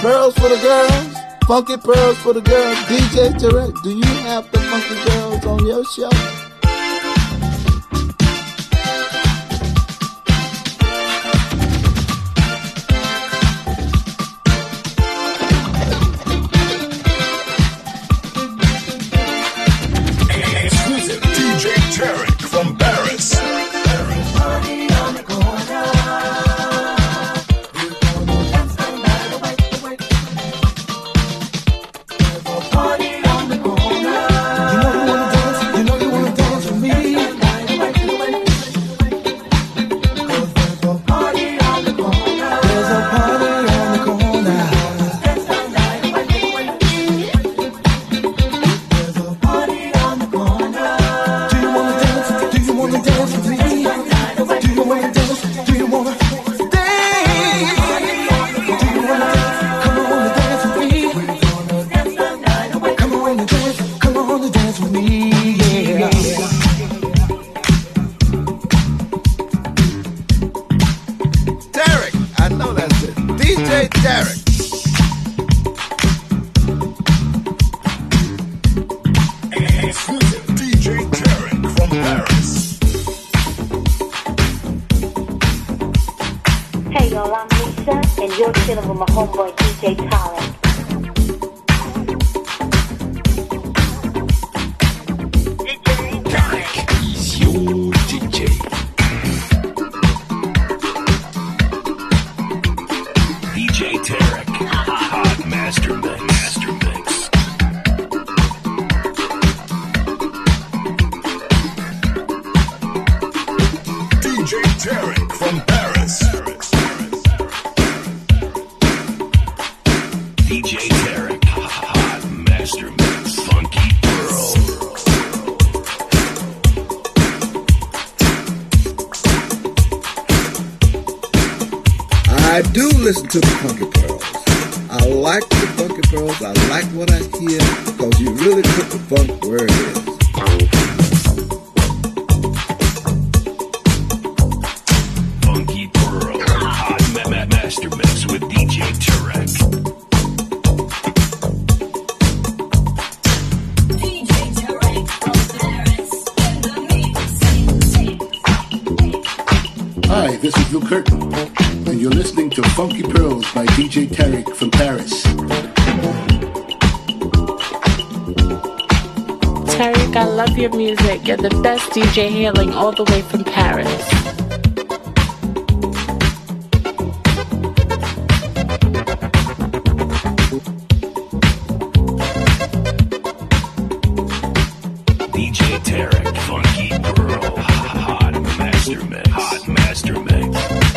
Pearls for the girls, funky pearls for the girls. DJ Tarek, do you have the funky girls on your show? Exclusive DJ Tarek from Paris. I do listen to the Funky Pearls. I like the Funky Pearls. I like what I hear because you really put the funk where it is. Funky Pearl, hot master mix with DJ Tarek. Hi, this is Lou Curtin, and you're listening to Funky Pearls by DJ Tarek from Paris. Tarek, I love your music. You're the best DJ hailing all the way from Paris. DJ Tarek, Funky Pearl, hot master mix. Hot master mix.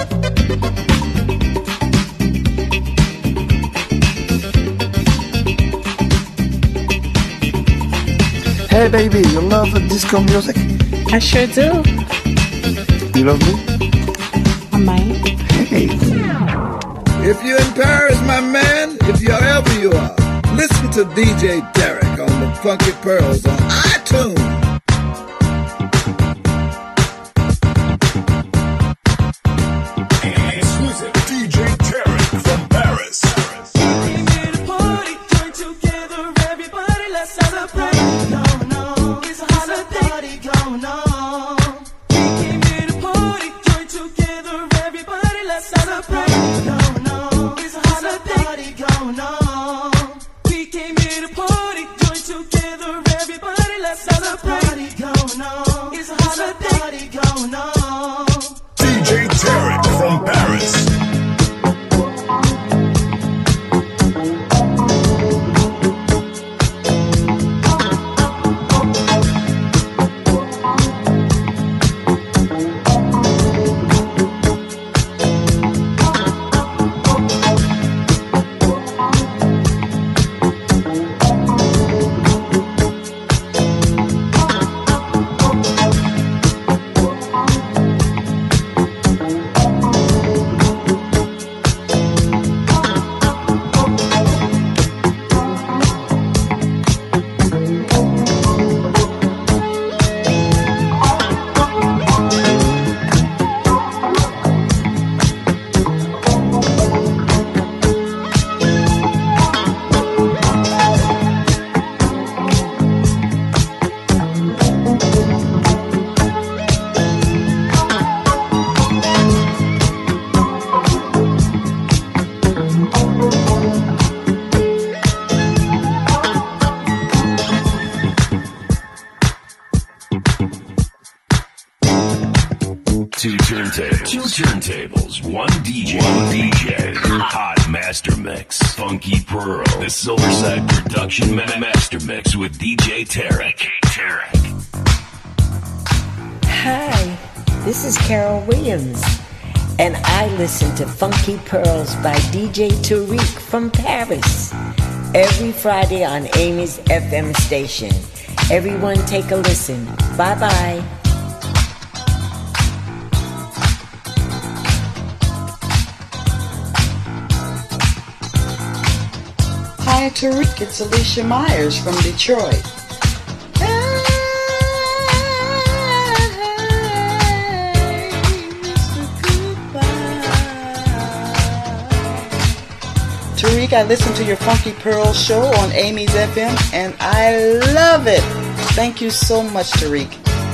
Hey baby, you love disco music? I sure do. You love me? I might. Hey. If you're in Paris, my man, if you're ever you are, listen to DJ Tarek on the Funky Pearls on iTunes. Exclusive DJ Tarek from Paris. Celebrate. turntables, one DJ, hot master mix, Funky Pearl, the Silverside Production Master Mix with DJ Tarek. Hi, this is Carol Williams, and I listen to Funky Pearls by DJ Tariq from Paris every Friday on Amy's FM station. Everyone take a listen. Bye-bye. Hi, Tariq. It's Alicia Myers from Detroit. Tariq, I listen to your Funky Pearl show on Amy's FM, and I love it. Thank you so much, Tariq.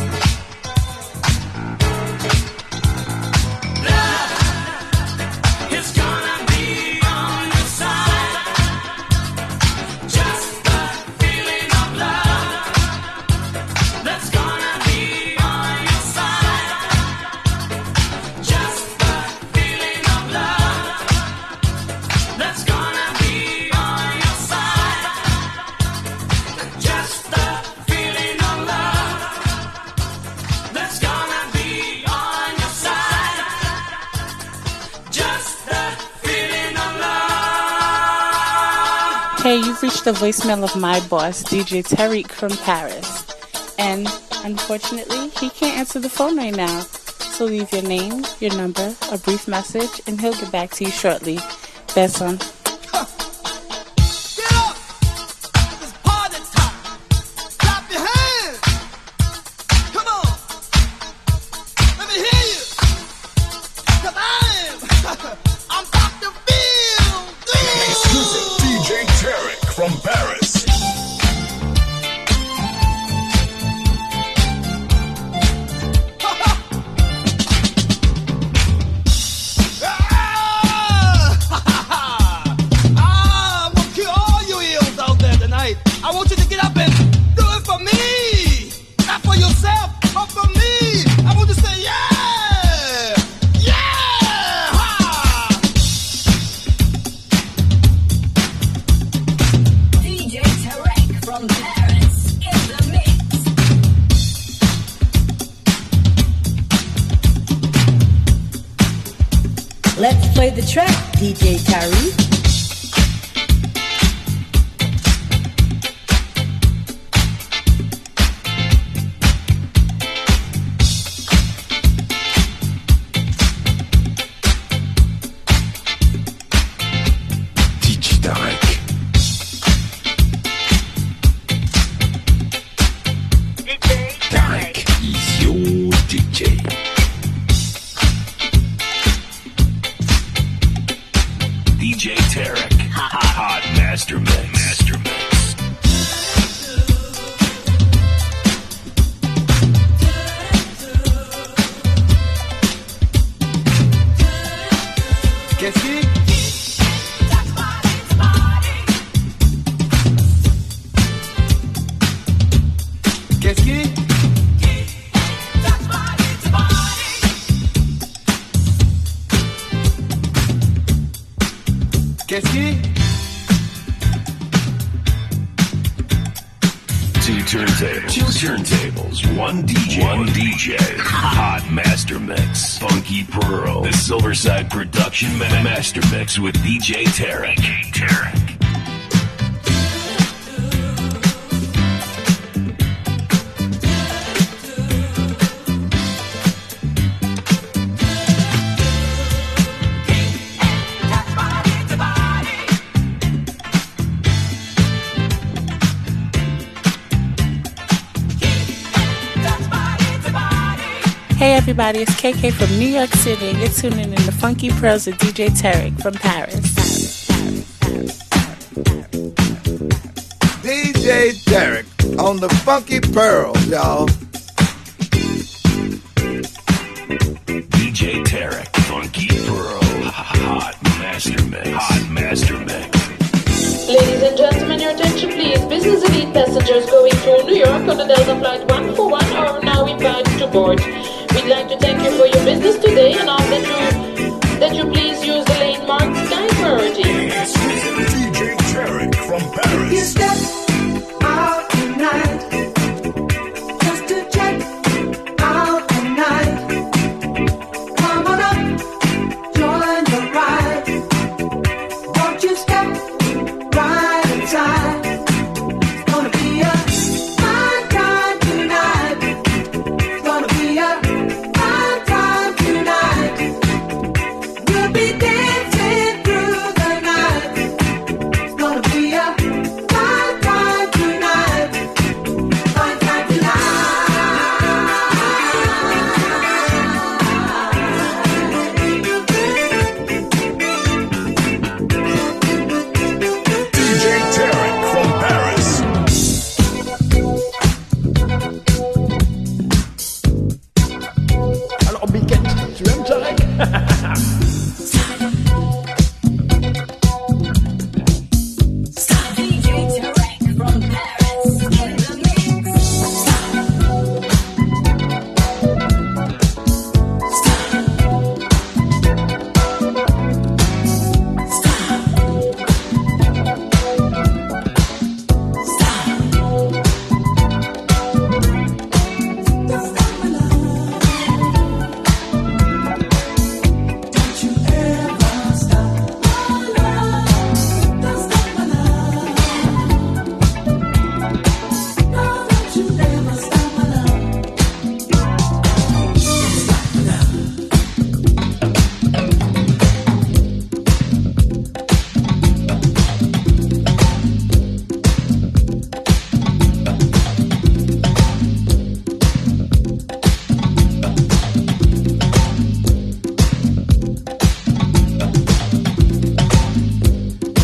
Hey, you've reached the voicemail of my boss, DJ Tariq from Paris. And unfortunately, he can't answer the phone right now. So leave your name, your number, a brief message, and he'll get back to you shortly. That's on. From Paris. I'm gonna kill all you eels out there tonight. I want you to get up and do it for me. Not for yourself, but for me. I want you to say, yeah! Let's play the track, DJ Tariq. DJ Tarek. Tarek is your DJ. DJ Tarek, hot master mix. Qu'est-ce qui? Qu'est-ce qui? Qu'est-ce qui? Two turntables, one DJ, hot master mix, Funky Pearl, the Silverside Production Master Mix with DJ Tarek. Hey everybody, it's KK from New York City, and you're tuning in to Funky Pearls with DJ Tarek from Paris. DJ Tarek on the Funky Pearls, y'all. DJ Tarek, Funky Pearl, hot master mix. Ladies and gentlemen, your attention please. Business Elite passengers going to New York on the Delta Flight 141 are now invited to board. We'd like to thank you for your business today and all that you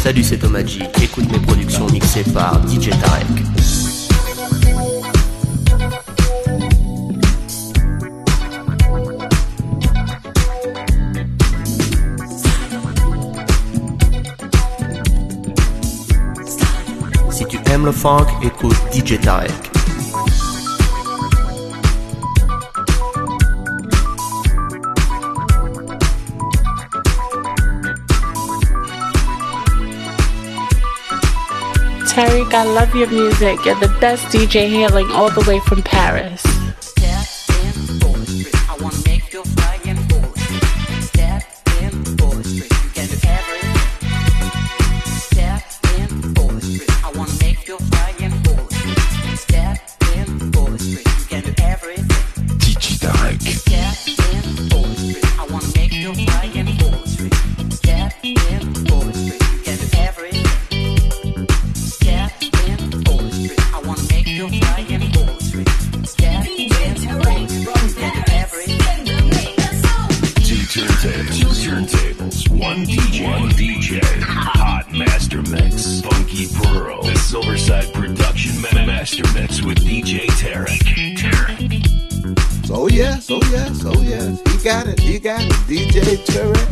Salut, c'est Thomas G. Écoute mes productions mixées par DJ Tarek. Si tu aimes le funk, écoute DJ Tarek. Tariq, I love your music. You're the best DJ hailing all the way from Paris. DJ Tarek.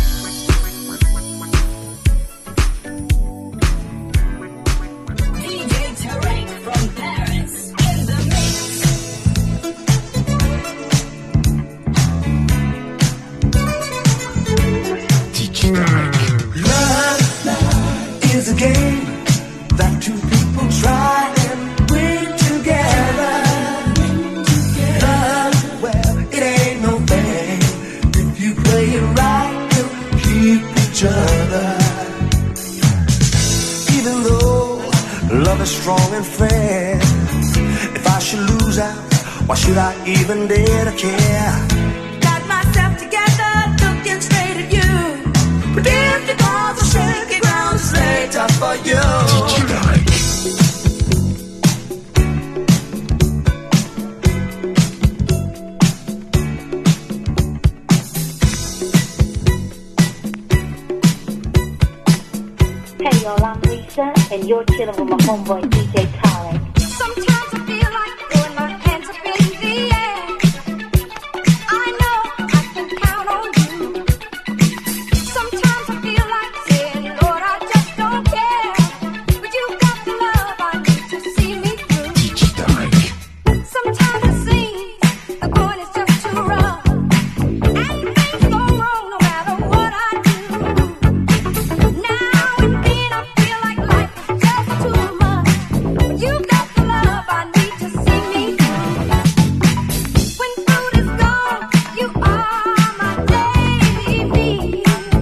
Even dare to care. Got myself together, looking straight at you. But if the balls are shaky ground, it's late tough for you. Hey y'all, I'm Lisa, and you're chilling with my homeboy DJ Tarek. Sometimes I feel like throwing my hands up in the air. I know I can count on you. Sometimes I feel like saying, Lord, I just don't care. But you got the love I need to see me through. Sometimes it seems the going is just too rough. And things go wrong no matter what I do. Now and then I feel like life is just too much. But you got the love I need to see me through. When food is gone, you are my daily need.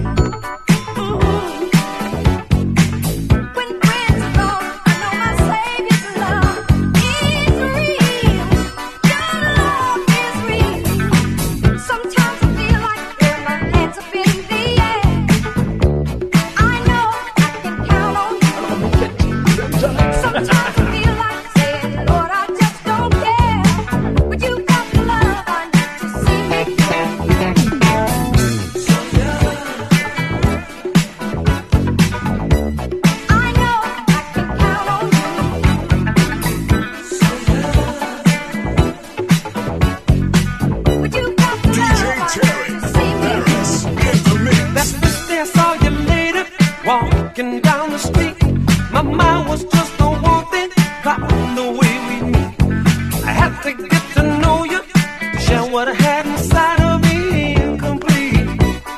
When friends are gone, I know my Savior's love is real. Your love is real. Sometimes I feel like throwing my hands up in the air. I know I can count on you. Sometimes I feel like saying, Lord, I just don't care. But you got the love I need to see me through. I know I can count on you. But you got the love I need to see me through. That's the day I saw you later, walking down the street. My mind was just on one thing, plotting the way we meet. I had to get to know you, share what I had inside of me, incomplete.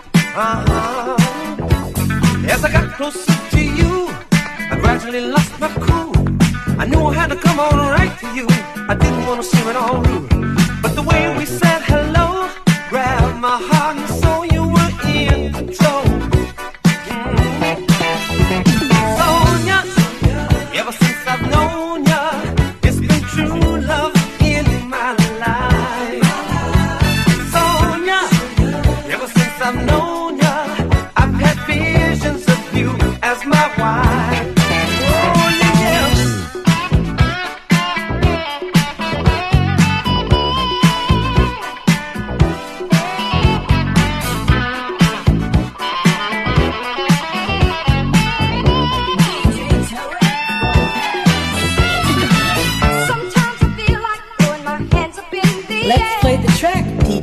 As I got closer to you, I gradually lost my cool. I knew I had to come on right to you. I didn't want to seem at all rude, but the way we said hello grabbed my heart and soul. You were in control. Sonia, ever since I've known ya, it's been true love in my life. Sonia, ever since I've known ya, I've had visions of you as my wife. Oh yeah.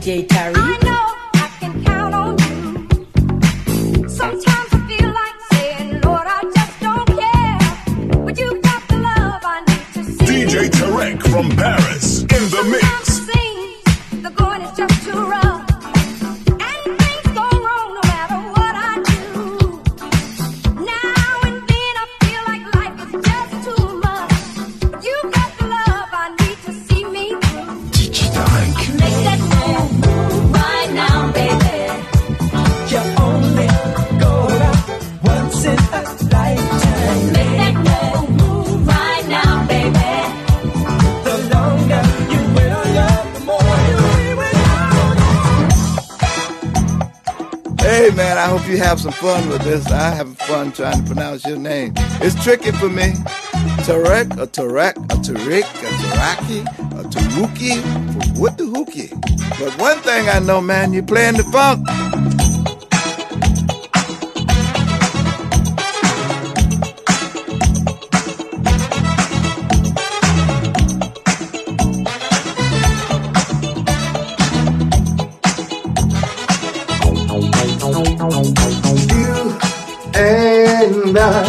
DJ Tariq. I know I can count on you. Sometimes I feel like saying, Lord, I just don't care. But you got the love I need to see. DJ Tarek from Paris in the mix. Sometimes it seems the going is just too rough. And things go wrong no matter what I do. Now and then I feel like life is just too much. But you got the love I need to see me through. DJ Tarek. Make that move right now, baby. You only go out once in a lifetime. Make that move right now, baby. The longer you will love, the more you will. Hey man, I hope you have some fun with this. I have fun trying to pronounce your name. It's tricky for me. Tarek, or Tarek, or Tariq, or Taraki, or Taruki, what the hookie? But one thing I know, man, you're playing the funk. And I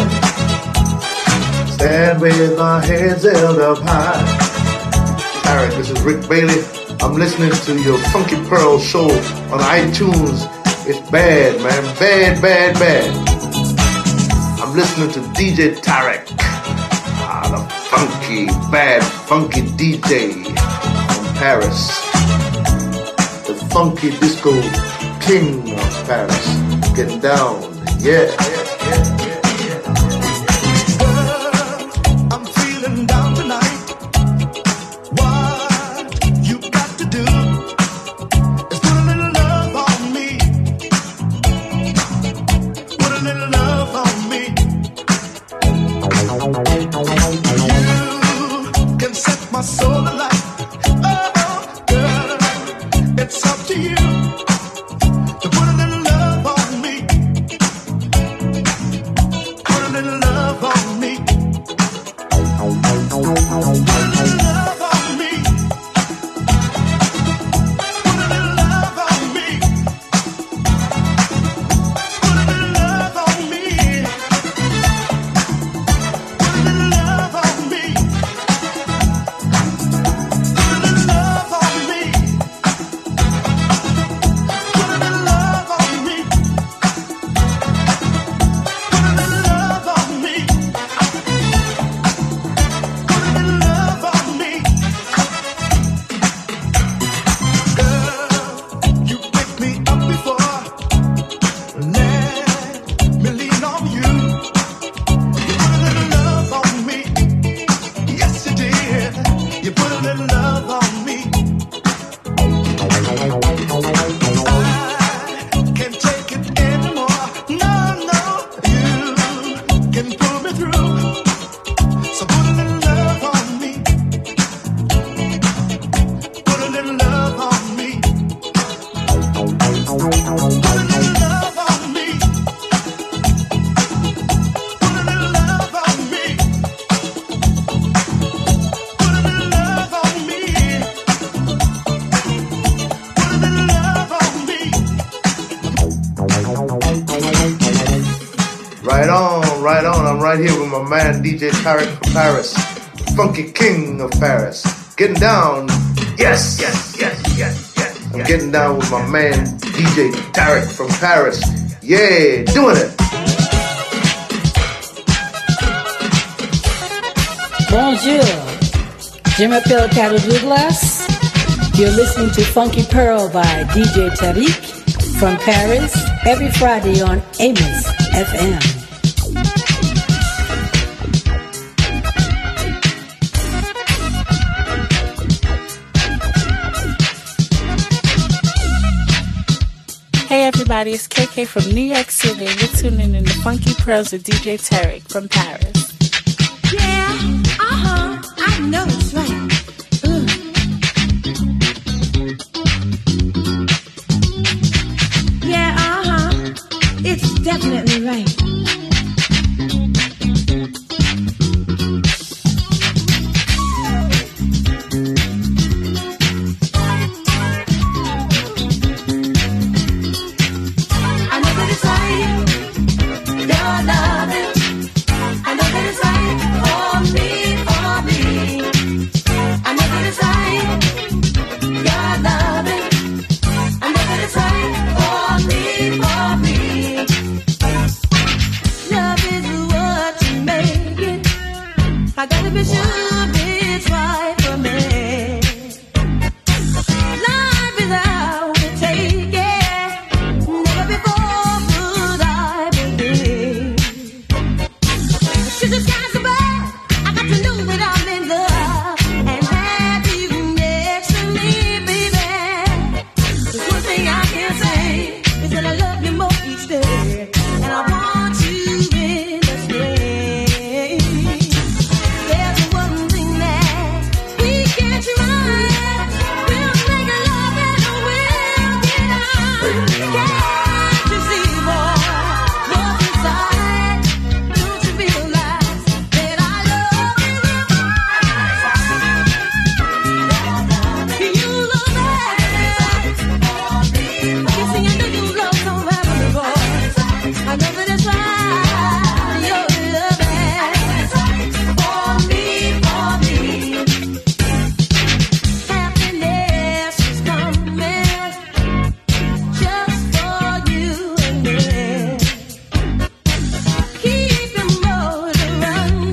stand with my heads held up high. Alright, this is Rick Bailey. I'm listening to your Funky Pearl show on iTunes. It's bad, man. Bad, bad, bad. I'm listening to DJ Tarek. The funky, bad, funky DJ from Paris. The funky disco king of Paris. Getting down. Yeah. I'm feeling down tonight. What you got to do is put a little love on me. Put a little love on me. You can set my soul alight. Oh, girl, it's up to you to put a little love on me. Put a little love on me. Put a little love on me. Put a little love on me. Put a little love on me. Put a little love on me. Put a little love on me. Put a little love on me. Put a little love on me. Put a little love on me. Girl, you picked me up before. Let me lean on you. You put a little love on me. Yes, you did. You put a little love on me. I can't take it anymore. No, you can pull me through. So put a little love on me. Put a little love on me. Put a little love on me. Put a little love on me. Put a little love on me. Put a little love on me. Right on, right on. I'm right here with my man DJ Tarek from Paris, the funky king of Paris. Getting down. Yes. I'm getting down with my man DJ Tarek from Paris. Yeah, doing it. Bonjour. Je m'appelle Carol Douglas. You're listening to Funky Pearl by DJ Tariq from Paris every Friday on Amos FM. Hey everybody, it's KK from New York City. You're tuning in to Funky Pearls with DJ Tarek from Paris. Yeah, I know it's right. Yeah, it's definitely right. I gotta be sure it's right for me. Life without a take, never before could I believe. She's a sky's above. I got to know that I'm in love and have you next to me, baby. There's one thing I can say is that I love you more each day, and I want you in this way. There's one thing that we can try. We'll make love and we'll get on. Can't you see, boy, what's inside? Don't you realize that I love you? You love me. You see, I know you love so very much. I know that it's right. You're loving for me. Happiness is coming just for you and me. Keep your motor running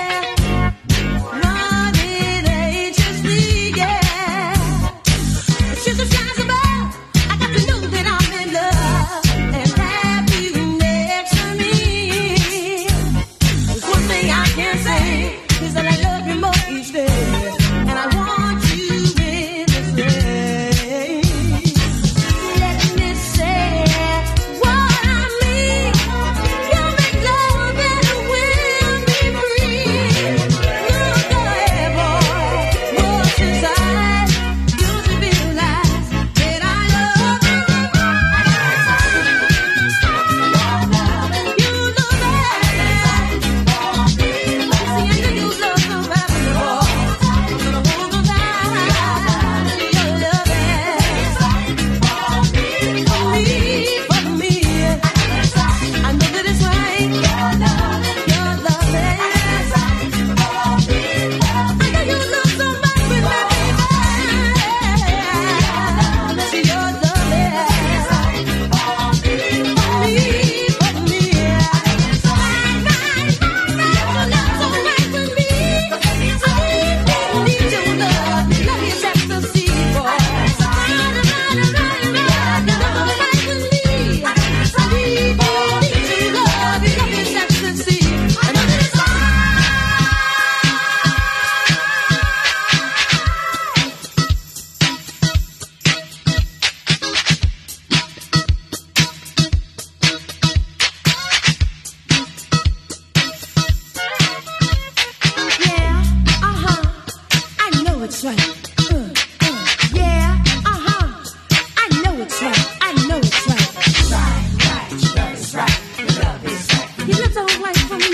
anxiously, yeah. She's a skies above. I got to know that I'm in love and have you next to me. There's one thing I can say is that I love you more each day, and I want you in this way. Let me say what I mean. You make love and we'll be free. Look ahead, boy, what's inside? Don't you realize that I love you? You love me. See, I know you love so very much. But I won't go down to your loving for me. I know that it's right. Your loving. I know you look so much with me, baby. See, your loving for me. I know it's right. I know it's right. I know it's right. You look so right for me.